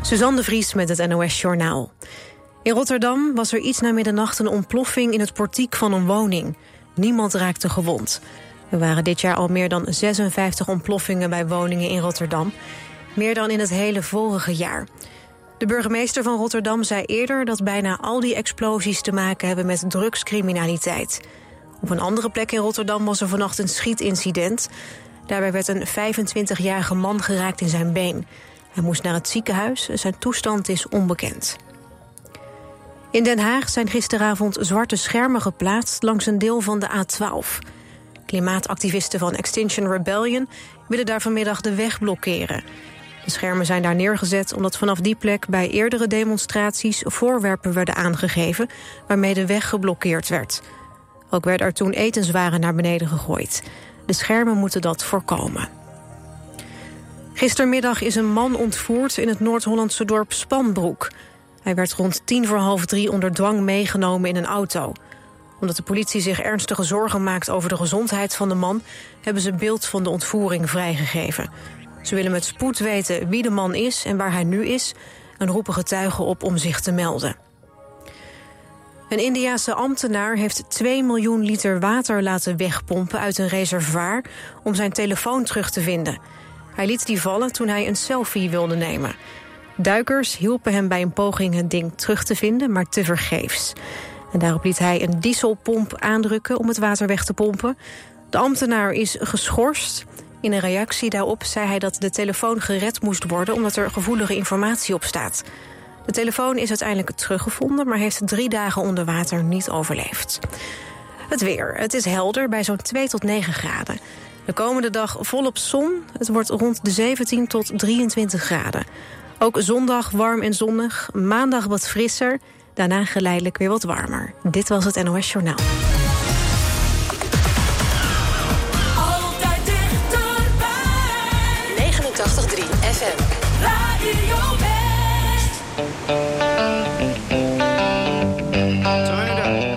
Suzanne de Vries met het NOS Journaal. In Rotterdam was er iets na middernacht een ontploffing in het portiek van een woning. Niemand raakte gewond. Er waren dit jaar al meer dan 56 ontploffingen bij woningen in Rotterdam. Meer dan in het hele vorige jaar. De burgemeester van Rotterdam zei eerder dat bijna al die explosies te maken hebben met drugscriminaliteit. Op een andere plek in Rotterdam was er vannacht een schietincident. Daarbij werd een 25-jarige man geraakt in zijn been. Hij moest naar het ziekenhuis, zijn toestand is onbekend. In Den Haag zijn gisteravond zwarte schermen geplaatst langs een deel van de A12. Klimaatactivisten van Extinction Rebellion willen daar vanmiddag de weg blokkeren. De schermen zijn daar neergezet omdat vanaf die plek bij eerdere demonstraties voorwerpen werden aangegeven waarmee de weg geblokkeerd werd. Ook werden er toen etenswaren naar beneden gegooid. De schermen moeten dat voorkomen. Gistermiddag is een man ontvoerd in het Noord-Hollandse dorp Spanbroek. Hij werd rond 2:45 onder dwang meegenomen in een auto. Omdat de politie zich ernstige zorgen maakt over de gezondheid van de man, hebben ze beeld van de ontvoering vrijgegeven. Ze willen met spoed weten wie de man is en waar hij nu is en roepen getuigen op om zich te melden. Een Indiase ambtenaar heeft 2 miljoen liter water laten wegpompen uit een reservoir om zijn telefoon terug te vinden. Hij liet die vallen toen hij een selfie wilde nemen. Duikers hielpen hem bij een poging het ding terug te vinden, maar tevergeefs. En daarop liet hij een dieselpomp aandrukken om het water weg te pompen. De ambtenaar is geschorst. In een reactie daarop zei hij dat de telefoon gered moest worden omdat er gevoelige informatie op staat. De telefoon is uiteindelijk teruggevonden, maar heeft 3 dagen onder water niet overleefd. Het weer. Het is helder bij zo'n 2 tot 9 graden. De komende dag volop zon. Het wordt rond de 17 tot 23 graden. Ook zondag warm en zonnig. Maandag wat frisser. Daarna geleidelijk weer wat warmer. Dit was het NOS Journaal. Altijd dichterbij. 89.3 FM. Radio West. Turn it up.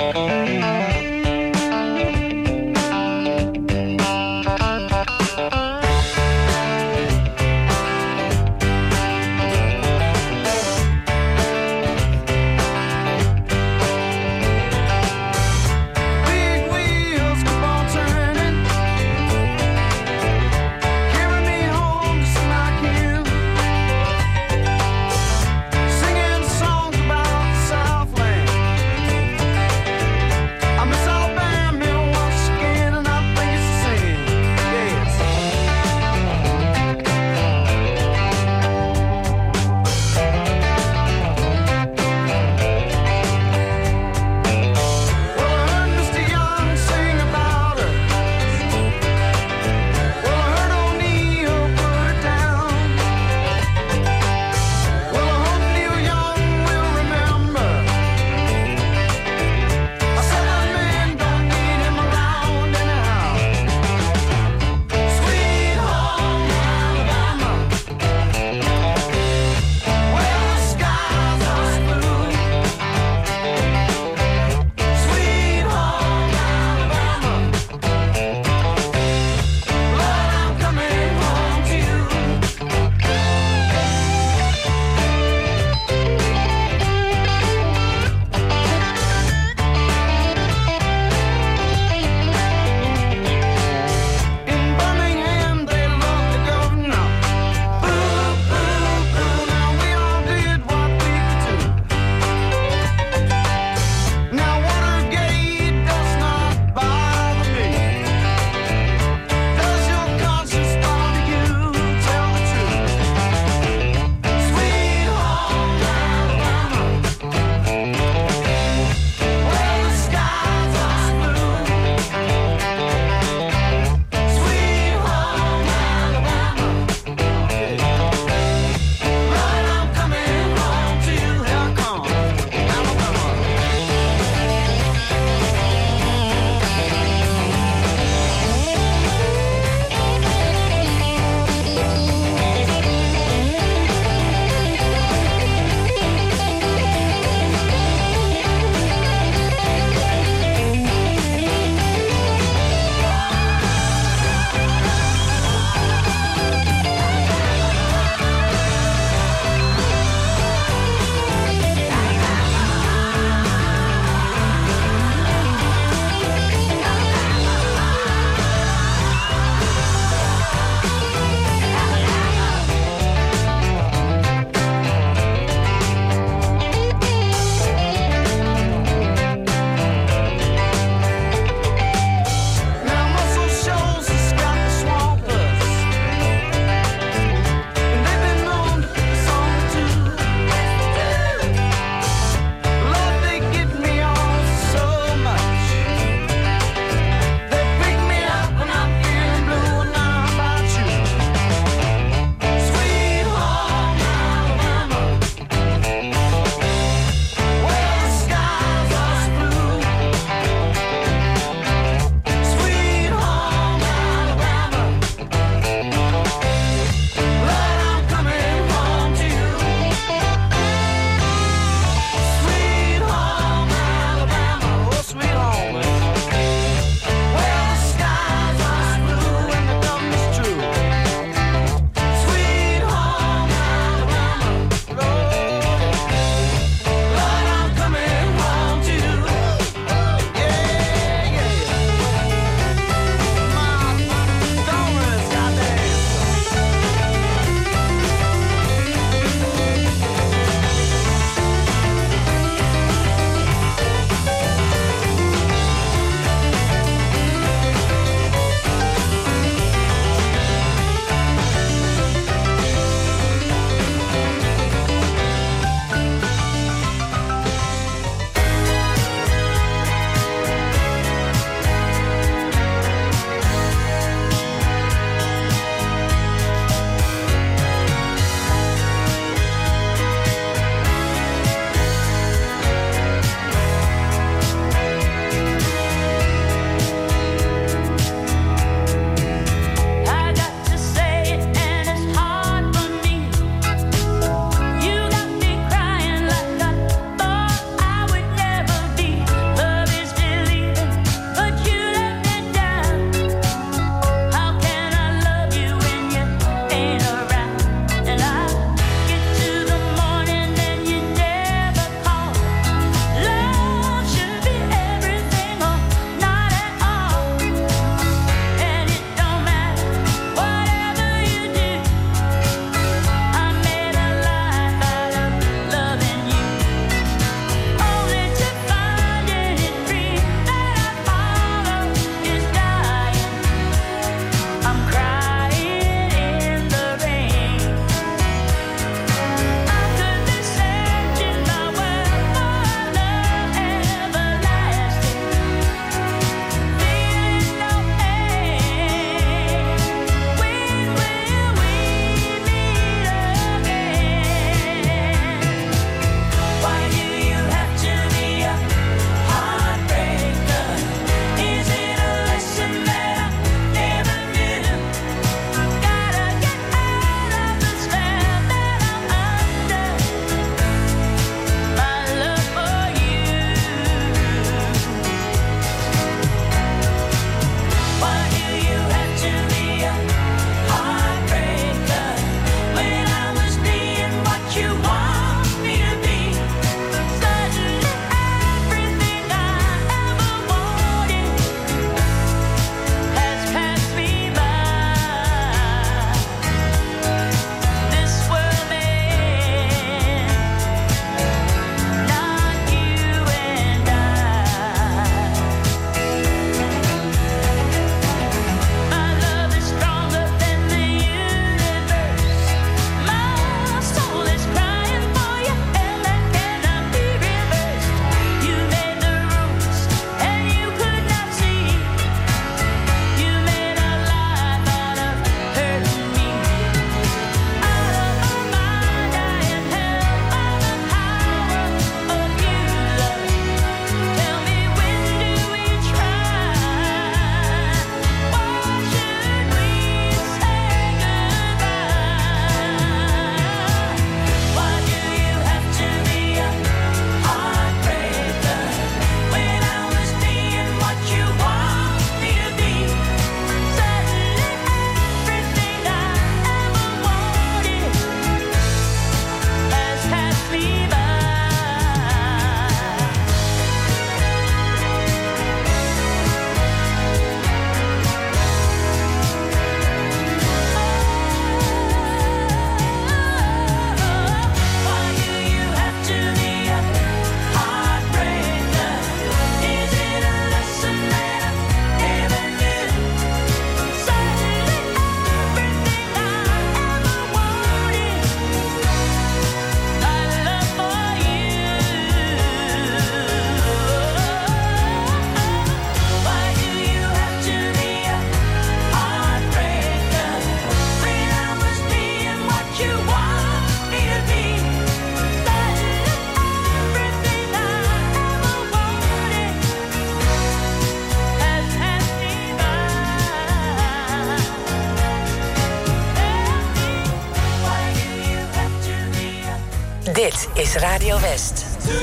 Dit is Radio West.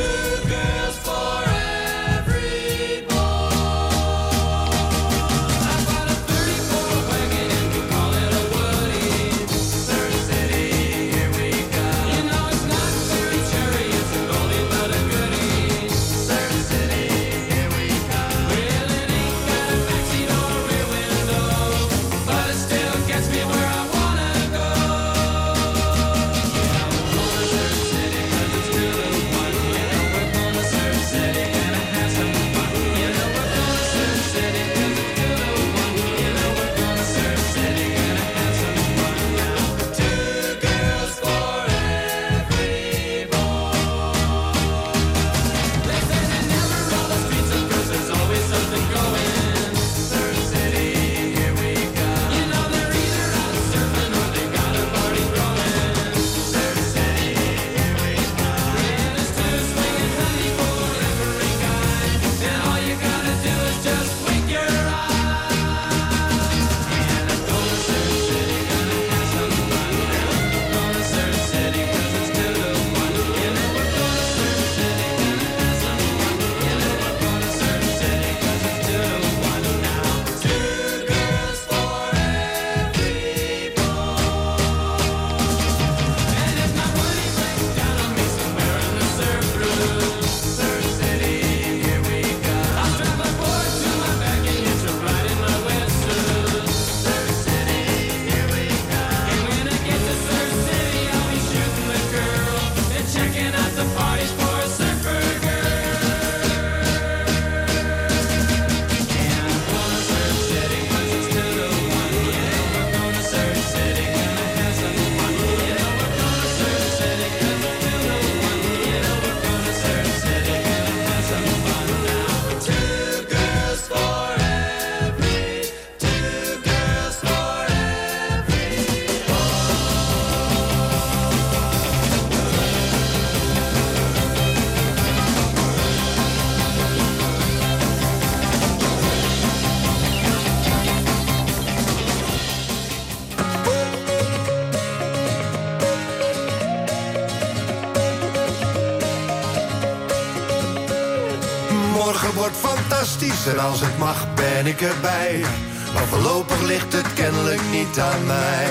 wordt fantastisch en als het mag ben ik erbij. Maar voorlopig ligt het kennelijk niet aan mij.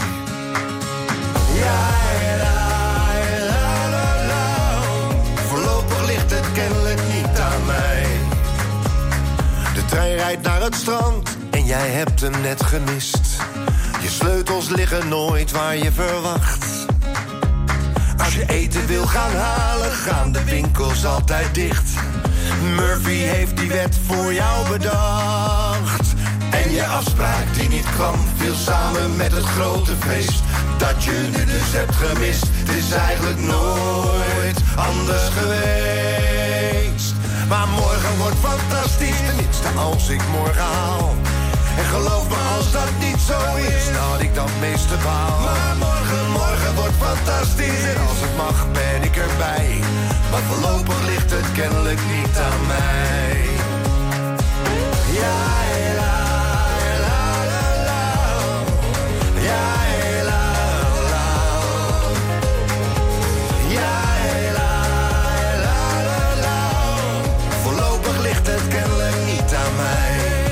Ja, la, la, la. Voorlopig ligt het kennelijk niet aan mij. De trein rijdt naar het strand en jij hebt hem net gemist. Je sleutels liggen nooit waar je verwacht. Als je eten wil gaan halen, gaan de winkels altijd dicht. Murphy heeft die wet voor jou bedacht. En je afspraak die niet kwam, viel samen met het grote feest dat je nu dus hebt gemist. Het is eigenlijk nooit anders geweest. Maar morgen wordt fantastisch, tenminste als ik morgen haal. En geloof me, als dat niet zo is, dat ik dan het meeste baal. Maar morgen wordt fantastisch en als het mag ben ik erbij. Maar voorlopig ligt het kennelijk niet aan mij. Ja, la, la, la, la. Ja, la, la. Ja, la, la, la, la. Voorlopig ligt het kennelijk niet aan mij.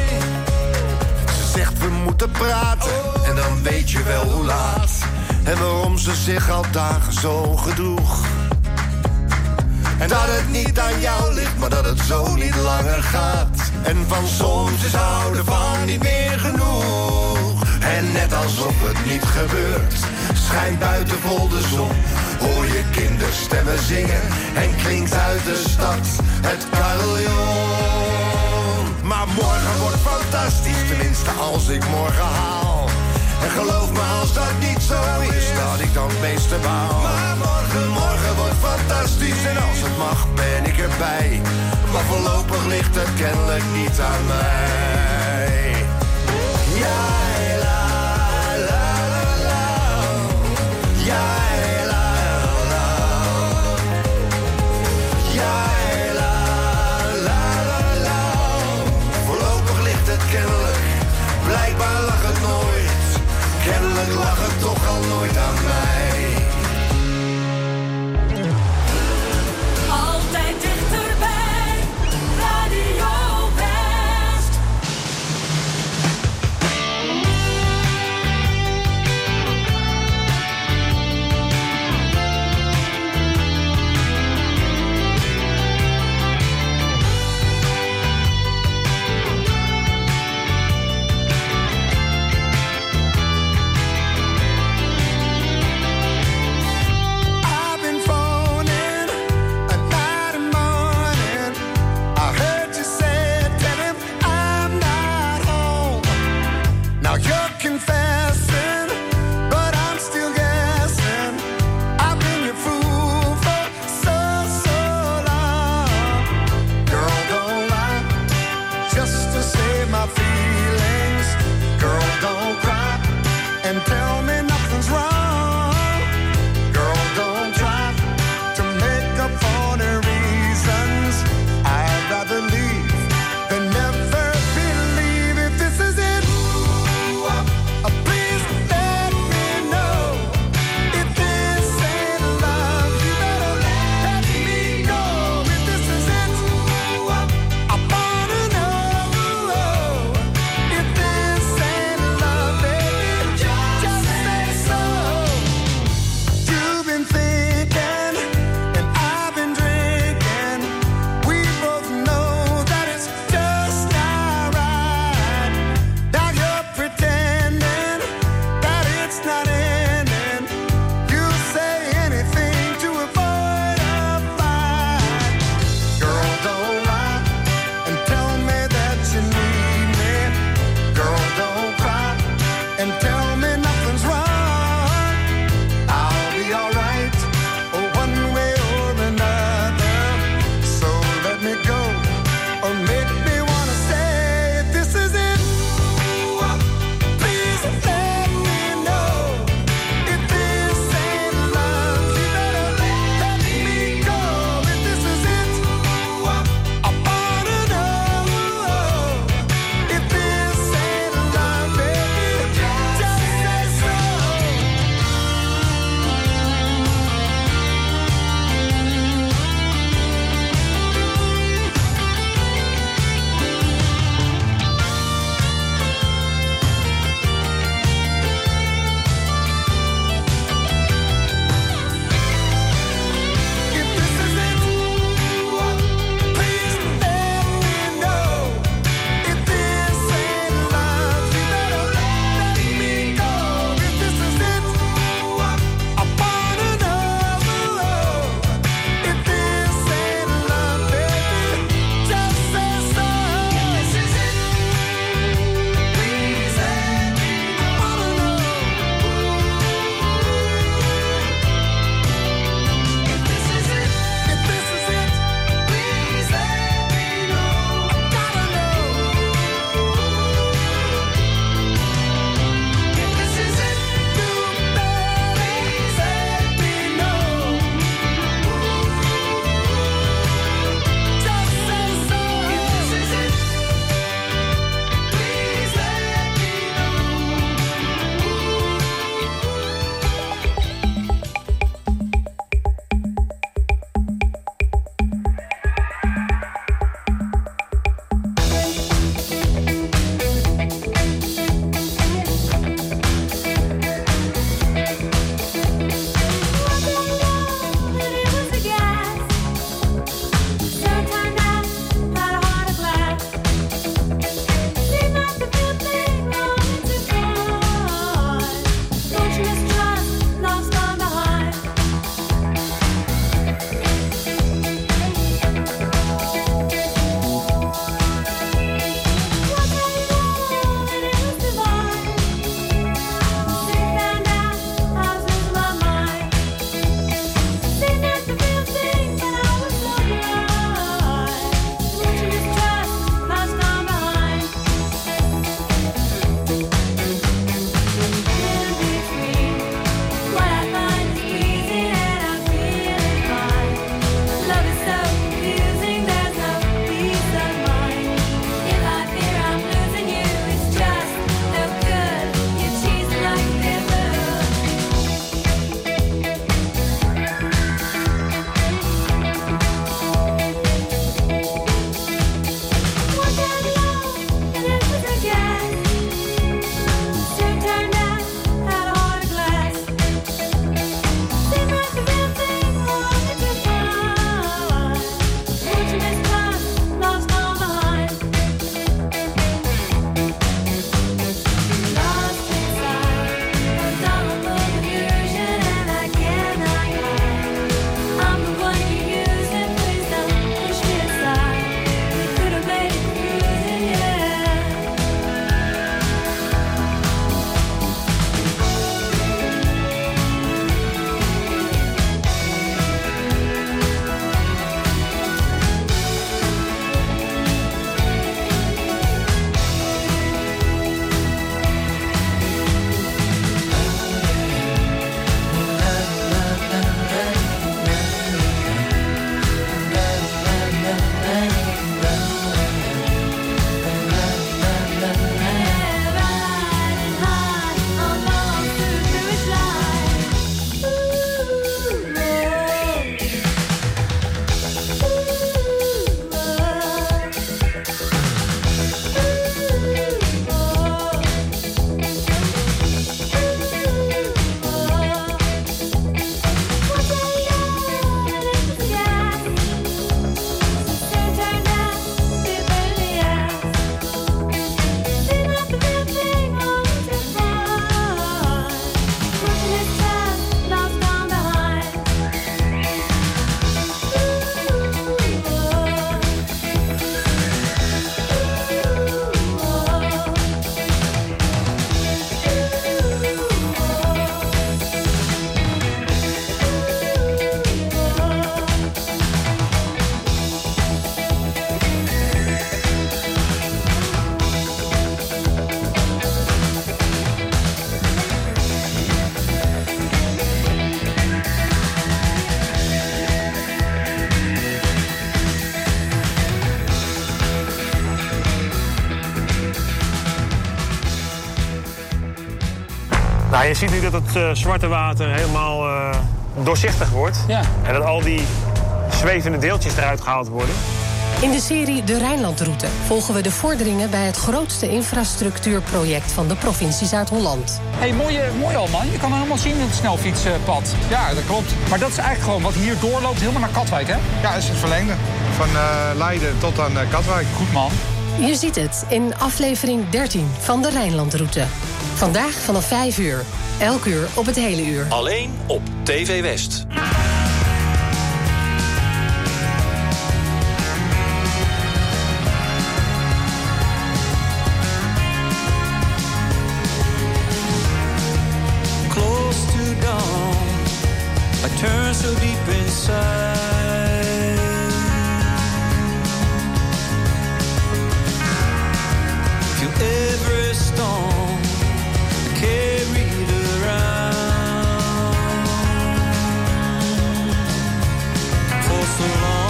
Ze zegt we moeten praten en dan weet je wel hoe laat. En waarom ze zich al dagen zo gedroeg. En dat het niet aan jou ligt, maar dat het zo niet langer gaat. En van soms is houden van niet meer genoeg. En net alsof het niet gebeurt, schijnt buiten vol de zon. Hoor je kinderstemmen zingen en klinkt uit de stad het carillon. Maar morgen wordt fantastisch, tenminste als ik morgen haal. En geloof me, als dat niet zo is, dat ik dan het meeste baal. Maar morgen wordt fantastisch en als het mag ben ik erbij. Maar voorlopig ligt het kennelijk niet aan mij. Ja, la, la, la, la. Ja, la, la. Ja, la, la, la, la. Voorlopig ligt het kennelijk, blijkbaar lag het nooit. Kennelijk lag het toch al nooit aan mij. je ziet nu dat het zwarte water helemaal doorzichtig wordt. Ja. En dat al die zwevende deeltjes eruit gehaald worden. In de serie De Rijnlandroute volgen we de vorderingen bij het grootste infrastructuurproject van de provincie Zuid-Holland. Hey, mooi al, man. Je kan helemaal zien het snelfietspad. Ja, dat klopt. Maar dat is eigenlijk gewoon wat hier doorloopt helemaal naar Katwijk, hè? Ja, dat is het verlengde. Van Leiden tot aan Katwijk. Goed, man. Je ziet het in aflevering 13 van De Rijnlandroute. Vandaag vanaf 5 uur. Elk uur op het hele uur. Alleen op TV West. Turn so deep inside. Feel every storm carried around for so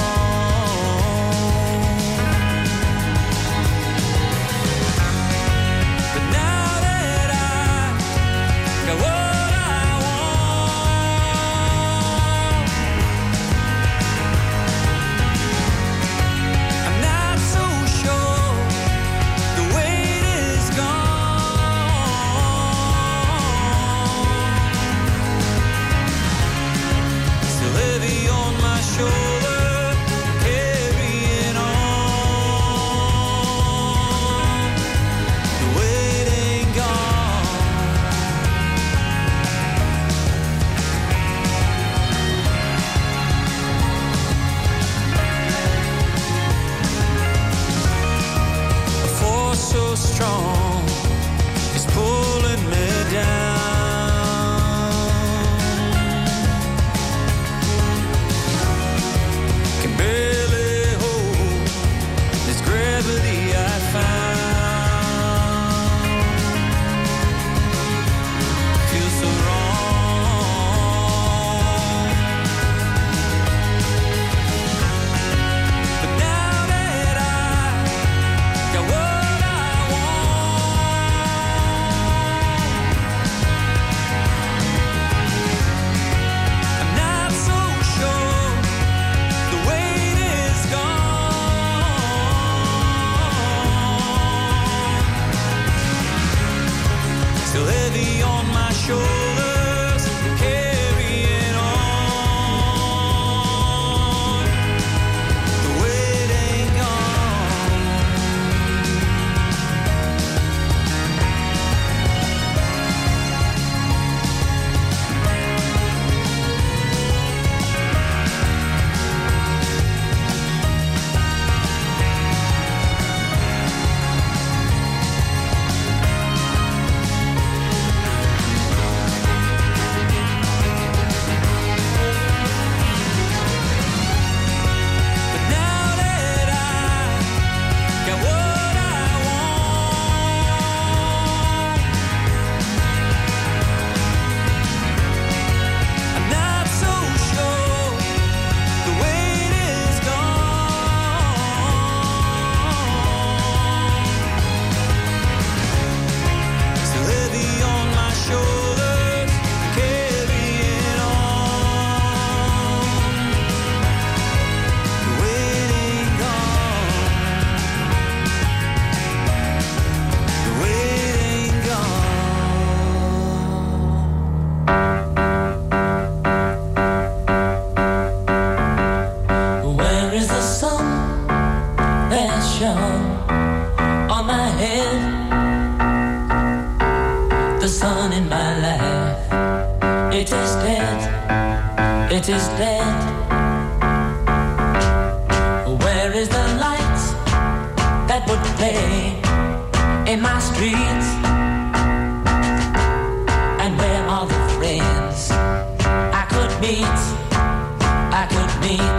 long. But now that I got what strong is pulling me down. Can barely hold this gravity I found. Feel so wrong. But now that I got what shoulders carrying on. The weight ain't gone. It is dead. Where is the light that would play in my streets? And where are the friends I could meet? I could meet.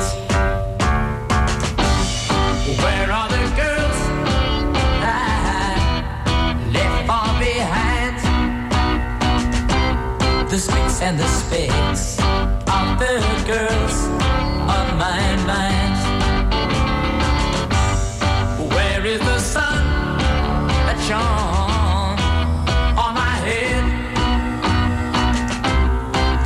Where are the girls I left far behind? The spits and the spits of the girls on my mind. Where is the sun that shone on my head?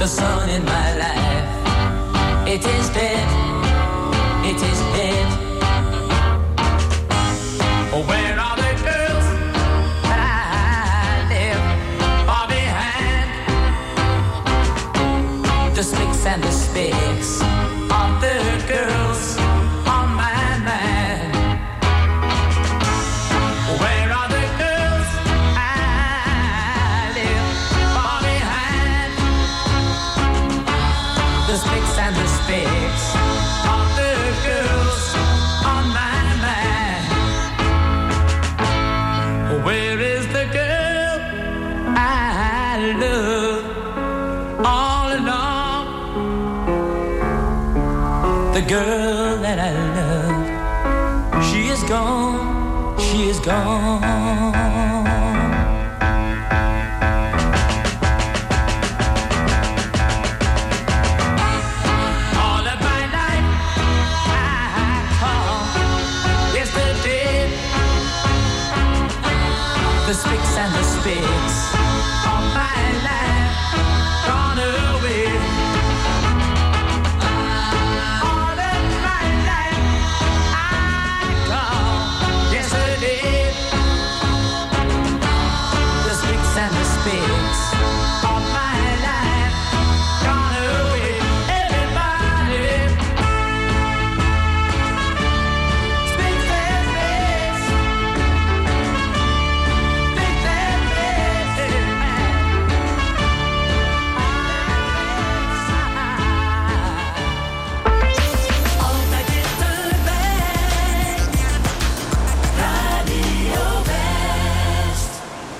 sun in my life. It is dead, it is dead. Oh, where are the girls that I left far behind? The slicks and the specks of the girls on my mind. Where are the girls I left far behind? The slicks and the specks of the girls on my mind. Where is the girl I love all along? The girl that I love, she is gone, she is gone. All of my life I call yesterday. The spicks and the spicks of my life gone away. All of my life I call yesterday. The spicks and the spicks of my life gone away. Everybody, spicks and spicks. Altijd dichterbij. Radio West.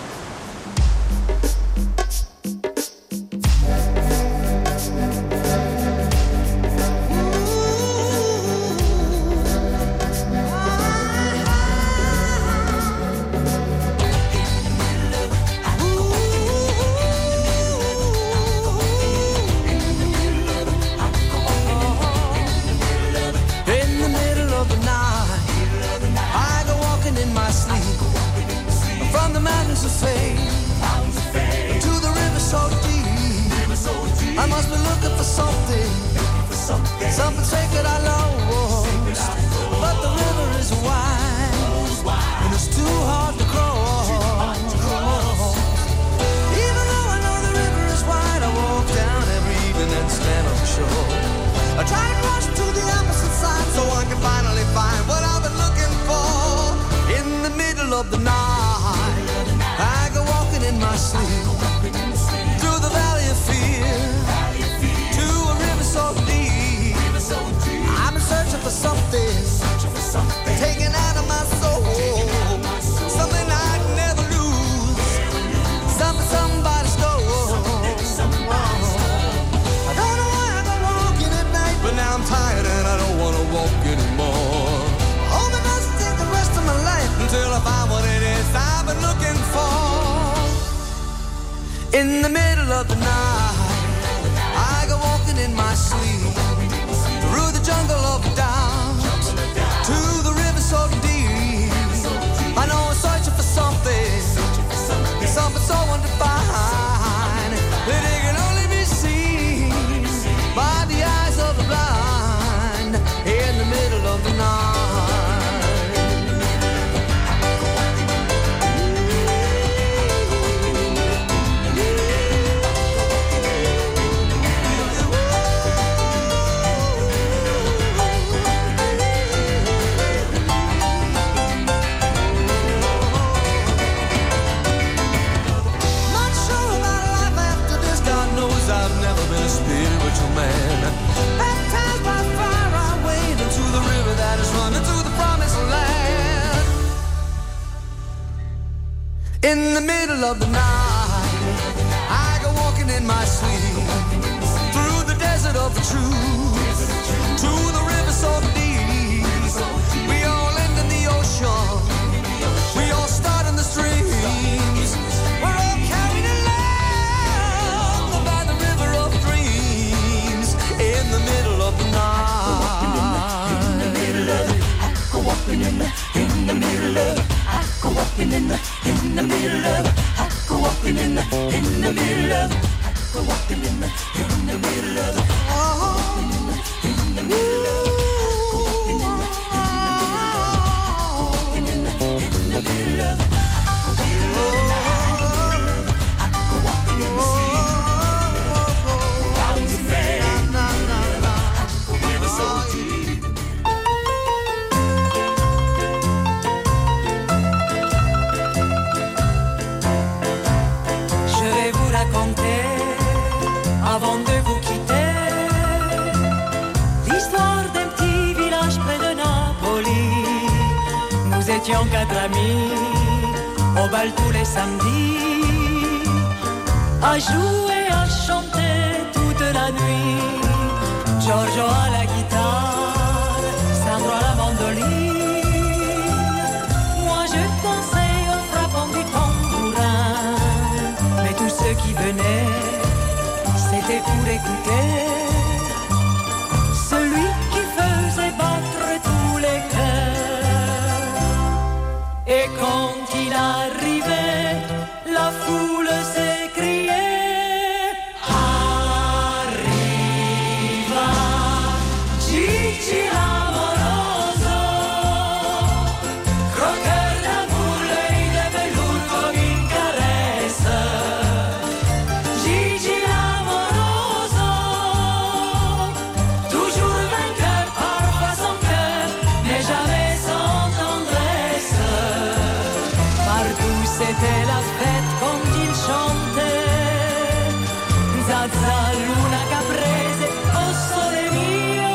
In the middle of the night, I go walking in my sleep. From the mountains of fame to the river so deep. I must be looking for something, something sacred I lost. But the river is wide, and it's too hard to cross. Even though I know the river is wide, I walk down every evening and stand on the shore. I try to cross to the opposite side so I can finally find what I've been looking for. In the middle of the night, I go walking in my sleep through the valley of fear to a river so deep. I've been searching for something taken out of my soul, something I'd never lose, something somebody stole. I don't know why I go walking at night, but now I'm tired and I don't want to walk anymore. Hope it doesn't take the rest of my life until I find what it is I've been looking for. In the middle of the night, I go walking in my sleep through the jungle of doubt to the river so deep. I know I'm searching for something, something so undefined that it can only be seen by the eyes of the blind. In the middle of the night. Not sure about life after this. God knows I've never been a spiritual man. Baptized by fire, I wade into the river that is running to the promised land. In the middle of the night, I go walking in my sleep through the desert of the truth to the river so deep. We all end in the ocean. We all start in the streams. We're all carried along by the river of dreams. In the middle of the night. In the middle of it, I go walking in the middle of it. I go walking in the middle of it. I go walking in the middle of it. walking in the middle of the avant de vous quitter, l'histoire d'un petit village près de Napoli. Nous étions 4 amis, au bal tous les samedis, à jouer, à chanter toute la nuit. Giorgio à la guitare, Sandro à la mandoline. Moi je dansais en frappant du tambourin, mais tous ceux qui venaient, c'était pour écouter celui qui faisait battre tous les cœurs. Et quand il arrivait, la foule s'écriait: Arriva Gigi l'amoroso, croqueur d'amour, l'œil de velours comme une caresse. Gigi c'était la fête quand il chantait Zaza, Luna, Caprese, oh sole mio.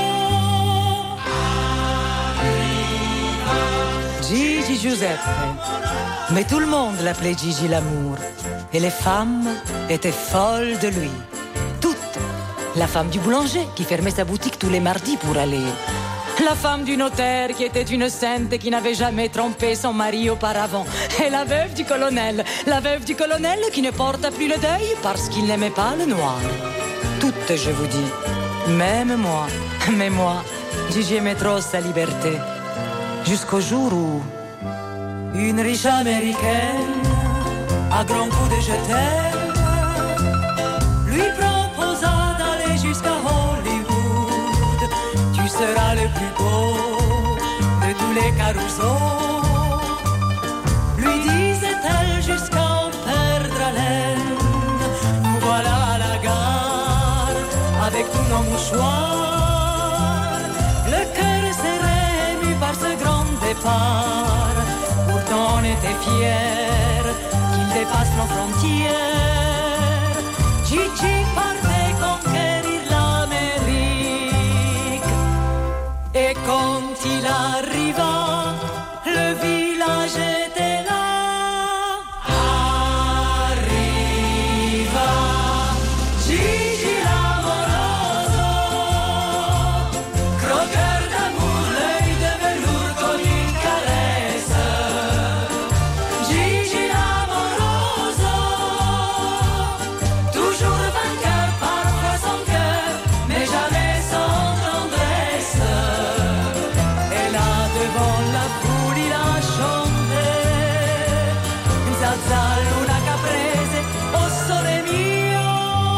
Gigi Giuseppe. Mais tout le monde l'appelait Gigi l'amour. Et les femmes étaient folles de lui. Toutes. La femme du boulanger qui fermait sa boutique tous les mardis pour aller. La femme du notaire qui était une sainte et qui n'avait jamais trompé son mari auparavant. Et la veuve du colonel qui ne porta plus le deuil parce qu'il n'aimait pas le noir. Toutes, je vous dis. Même moi. Mais moi, Gigi aimait trop sa liberté. Jusqu'au jour où une riche américaine, à grands coups de je t'aime, lui proposa d'aller jusqu'à Hollywood. Tu seras le plus beau de tous les carousaux, lui disait-elle jusqu'à en perdre haleine. Nous voilà à la gare avec tous nos mouchoirs, le cœur serré ému par ce grand départ. Pourtant on était fiers qu'il dépasse nos frontières. Gigi partait conquérir l'Amérique. Et quand il arriva, le village était là. Arriva Gigi l'amoroso, croqueur d'amour, l'œil de velours comme une caresse. Gigi l'amoroso, toujours vainqueur, parfois sans cœur, mais jamais sans tendresse. Et là devant la foule il a chanté Zaza, Luna, Caprese, oh sole mio.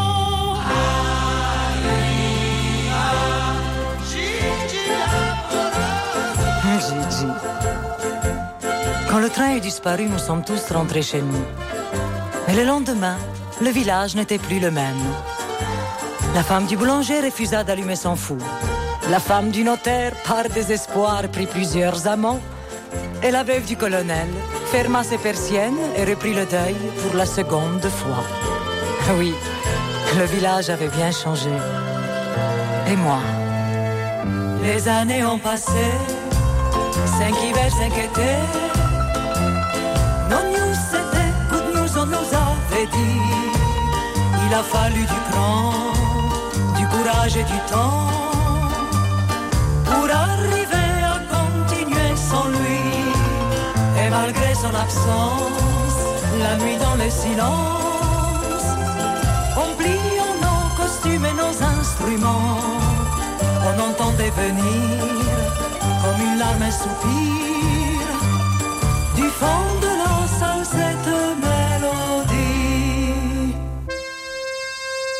Gigi. Quand le train est disparu, nous sommes tous rentrés chez nous. Mais le lendemain, le village n'était plus le même. La femme du boulanger refusa d'allumer son four. La femme du notaire, par désespoir, prit plusieurs amants. Et la veuve du colonel ferma ses persiennes et reprit le deuil pour la seconde fois. Oui, le village avait bien changé. Et moi? Les années ont passé, 5 hivers, 5 étés. Non news, c'était good news, on nous avait dit. Il a fallu du cran, du courage et du temps pour arriver à continuer sans lui. Et malgré son absence, la nuit dans le silence, en pliant nos costumes et nos instruments, on entendait venir comme une larme, un soupir du fond de la salle, cette mélodie.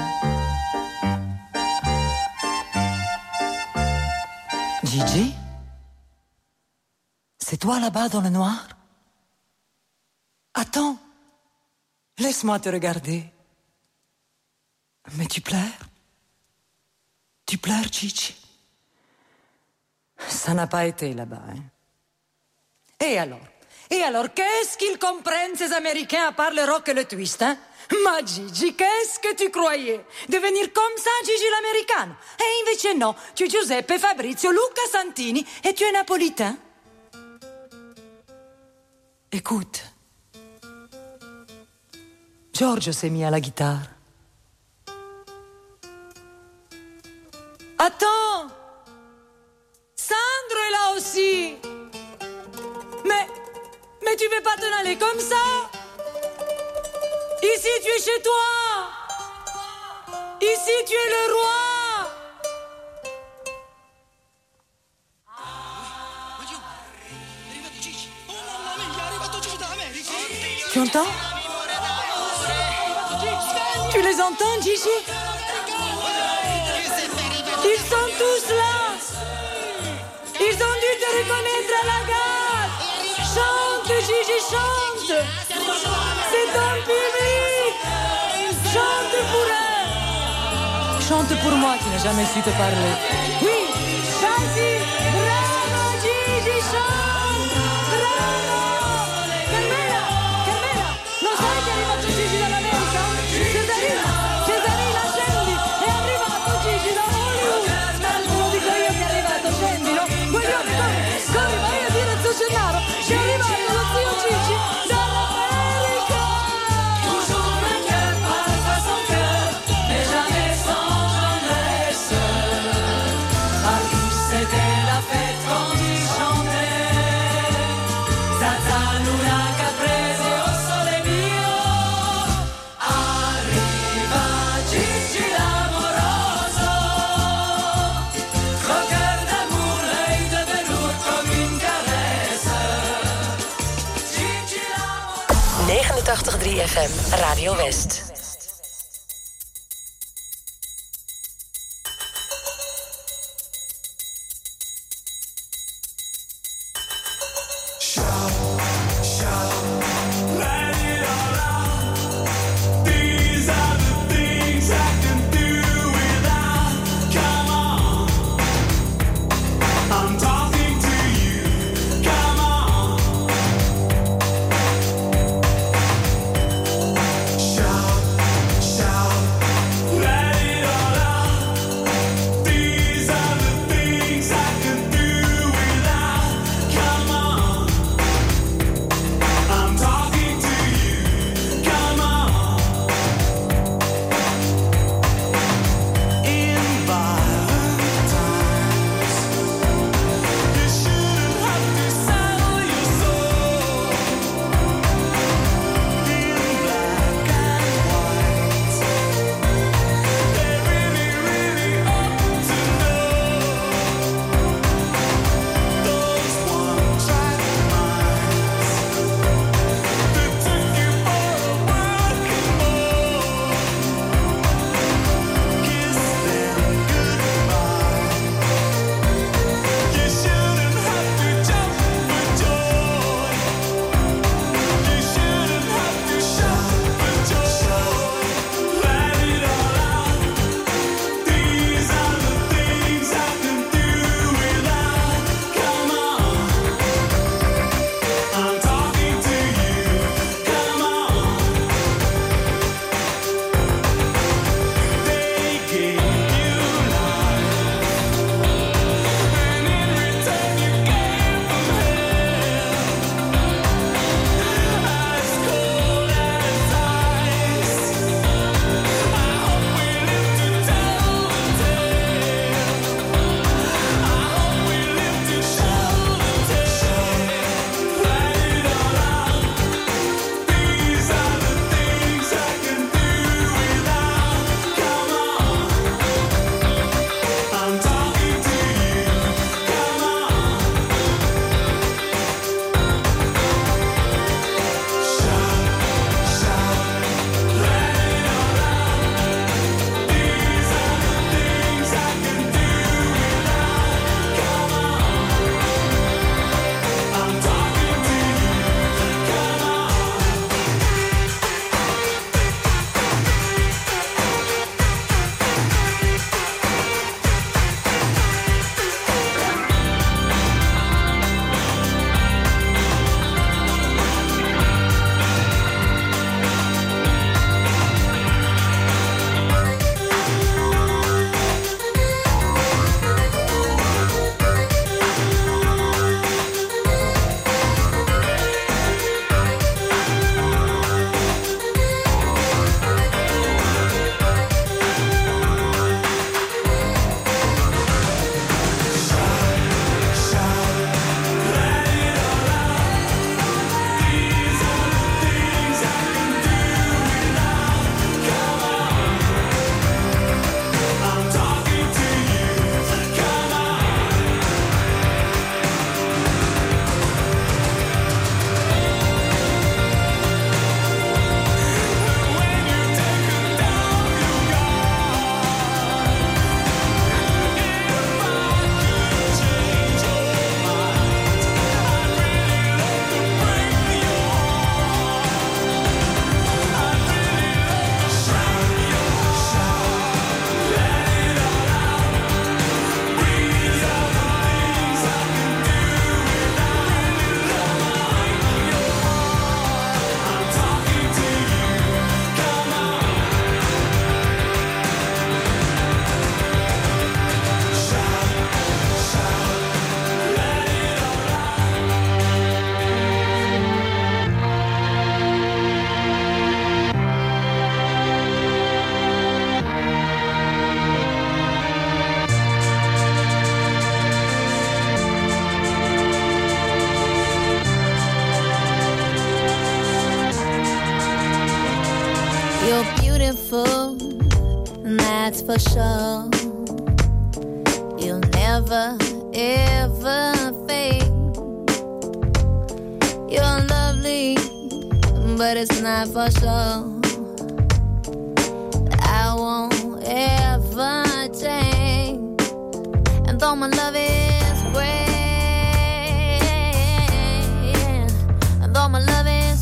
Gigi? C'est toi là-bas dans le noir? Attends, laisse-moi te regarder. Mais tu pleures? Tu pleures, Gigi? Ça n'a pas été là-bas, hein? Et alors, qu'est-ce qu'ils comprennent, ces Américains, à part le rock et le twist, hein? Ma Gigi, qu'est-ce que tu croyais? Devenir comme ça, Gigi l'americano? E invece no, tu es Giuseppe, Fabrizio, Luca Santini et tu es napolitain. Écoute, Giorgio s'est mis à la guitare. Attends, Sandro est là aussi. Mais tu veux pas t'en aller comme ça? Ici, tu es chez toi. Ici, tu es le roi. Tu entends? Tu les entends, Gigi? Ils sont tous là. Ils ont dû te reconnaître à la gare. Chante, Gigi, chante. C'est ton public. Chante pour eux. Chante pour moi qui n'ai jamais su te parler. Oui, vas-y. Bravo, Gigi, chante. Bravo. Carmela, non sai che è arrivato Gigi dall'America? Cesarina, scendi. È arrivato Gigi da Hollywood. Lo dico io che è arrivato, scendilo. Guglione, corri, vai a dire a zio Gennaro. C'è arrivato lo zio Gigi dall'America. Toujours un cœur passe à son cœur, mais jamais sans tendresse. Partout c'était la fête quand il chantait. Zazzaluna caprese, oh sole mio. Arriva Gigi l'amoroso. Croqueur d'amour, l'œil de velours comme une caresse. Gigi l'amoroso. 89.3 FM, Radio West. Shout that's for sure. You'll never, ever fade. You're lovely, but it's not for sure. I won't ever change. And though my love is great, and though my love is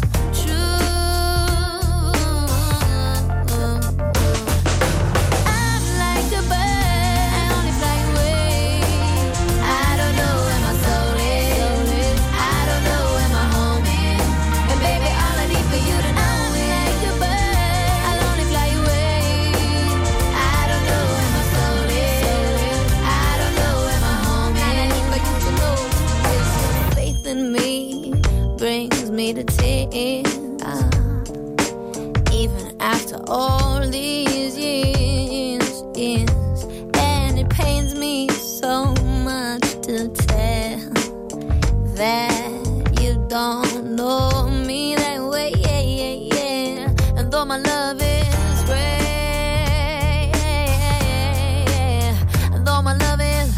to tears, even after all these years, and it pains me so much to tell that you don't know me that way, and though my love is great, and though my love is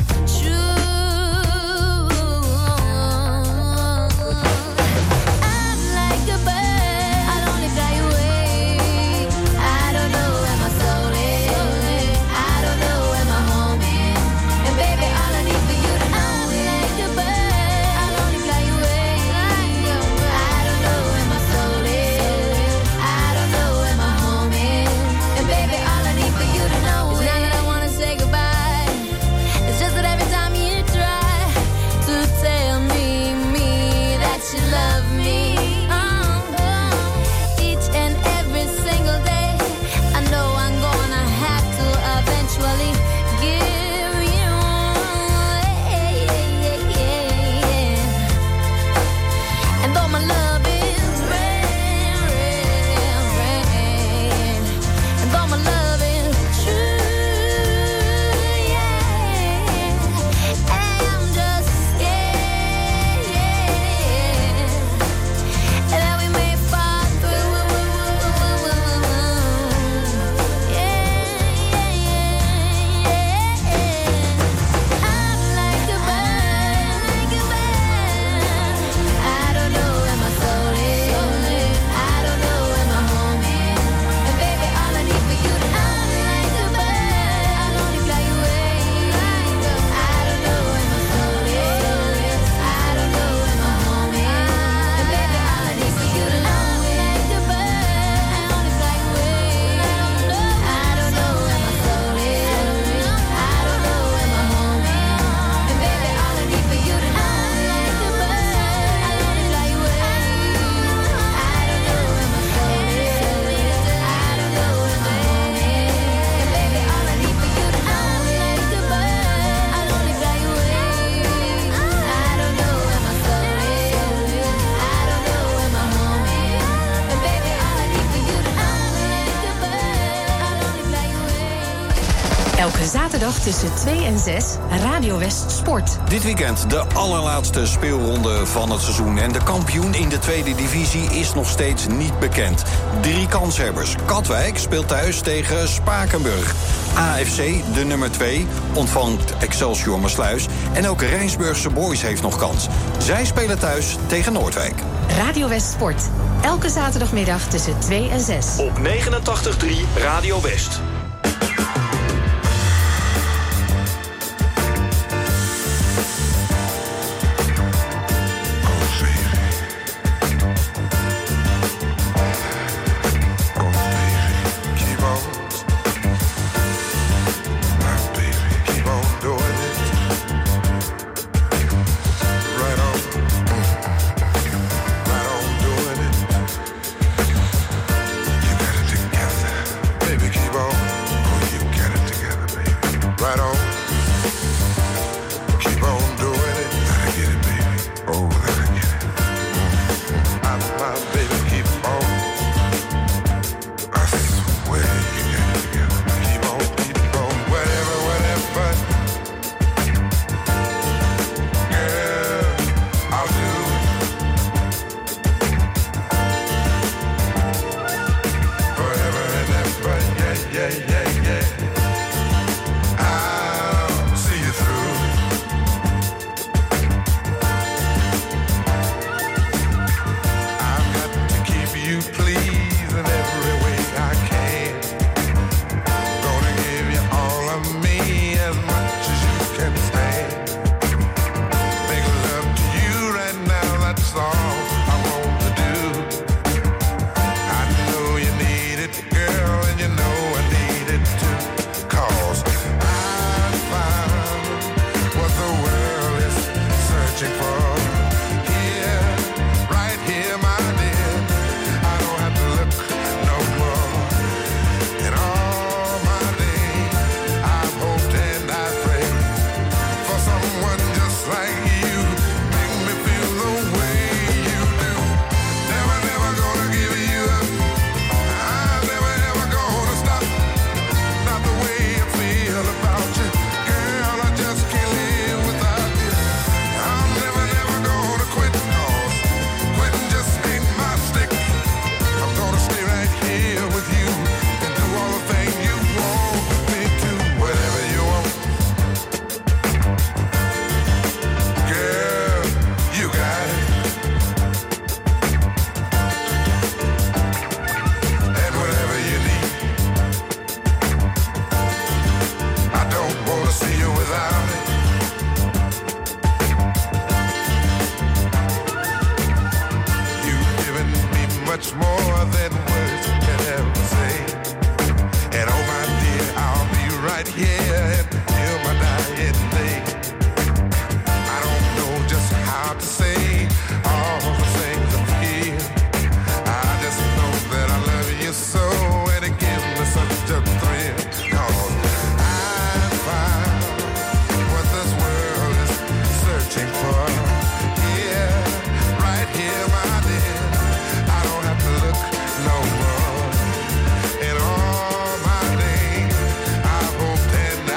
Elke zaterdag tussen 2 en 6, Radio West Sport. Dit weekend de allerlaatste speelronde van het seizoen. En de kampioen in de tweede divisie is nog steeds niet bekend. 3 kanshebbers. Katwijk speelt thuis tegen Spakenburg. AFC, de nummer 2, ontvangt Excelsior Maassluis. En ook Rijnsburgse Boys heeft nog kans. Zij spelen thuis tegen Noordwijk. Radio West Sport. Elke zaterdagmiddag tussen 2 en 6. Op 89.3 Radio West. right here until my dying day. I don't know just how to say all the things I feel. I just know that I love you so, and it gives me such a thrill. 'Cause I found what this world is searching for. Yeah, right here, my dear. I don't have to look no more. In all my days, I've hoped and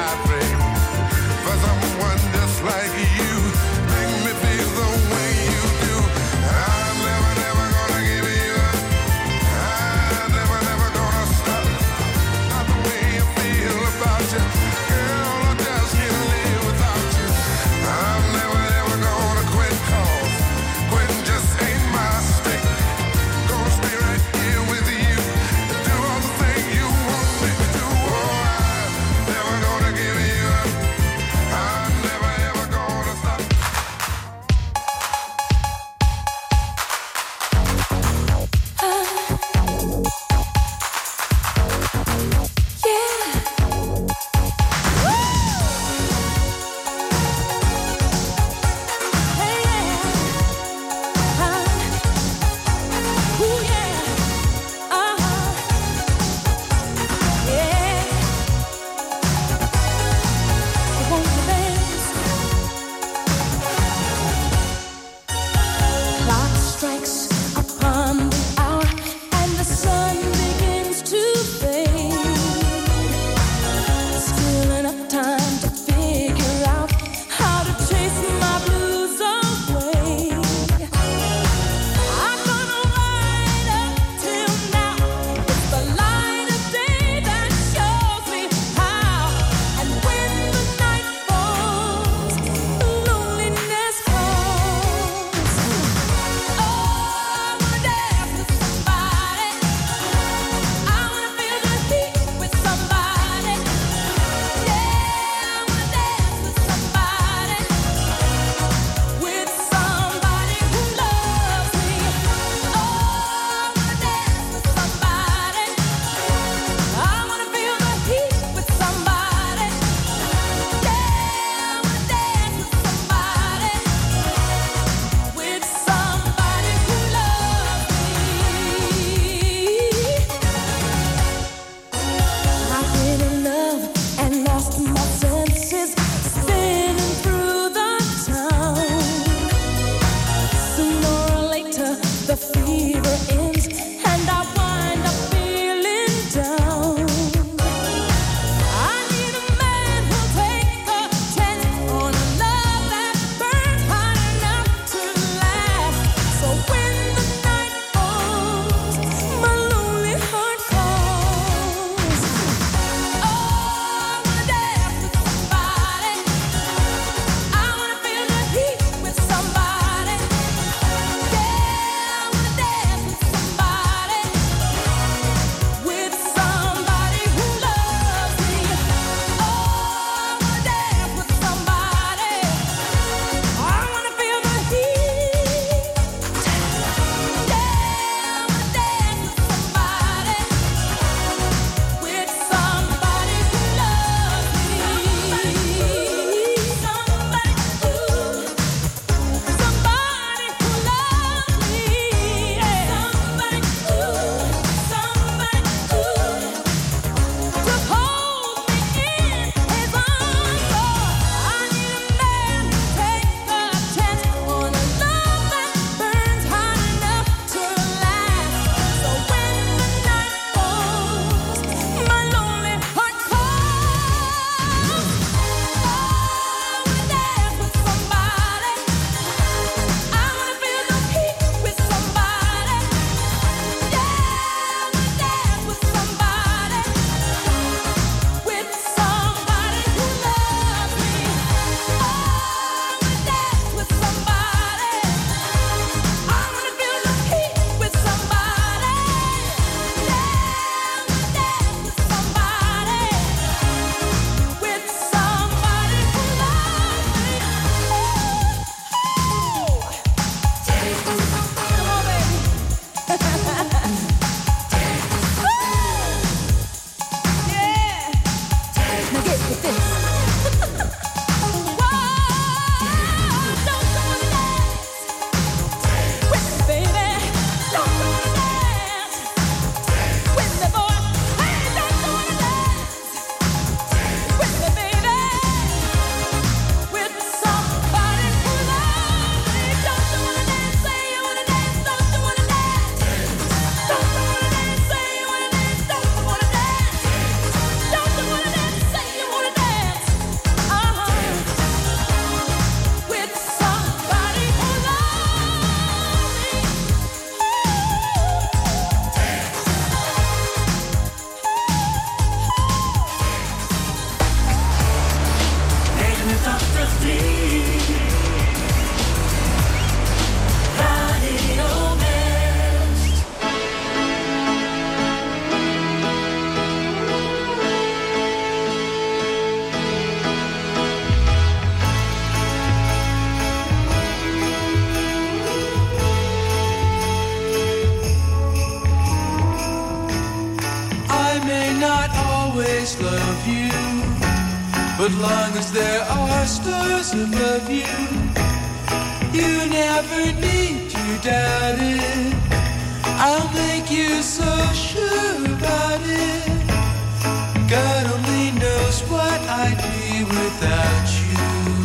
But long as there are stars above you, you never need to doubt it. I'll make you so sure about it. God only knows what I'd be without you.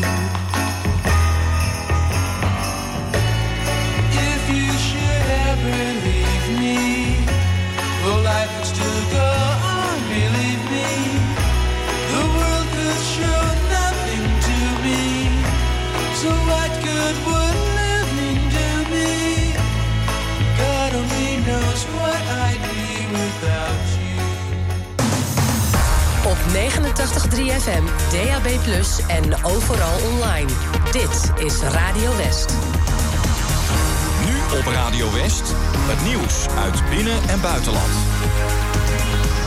If you should ever leave me, well, life would still go on, believe me. The world could show nothing to me. So what good would living do me? God only knows what I'd be without you. Op 89.3 FM, DAB+ en overal online. Dit is Radio West. Nu op Radio West, het nieuws uit binnen- en buitenland.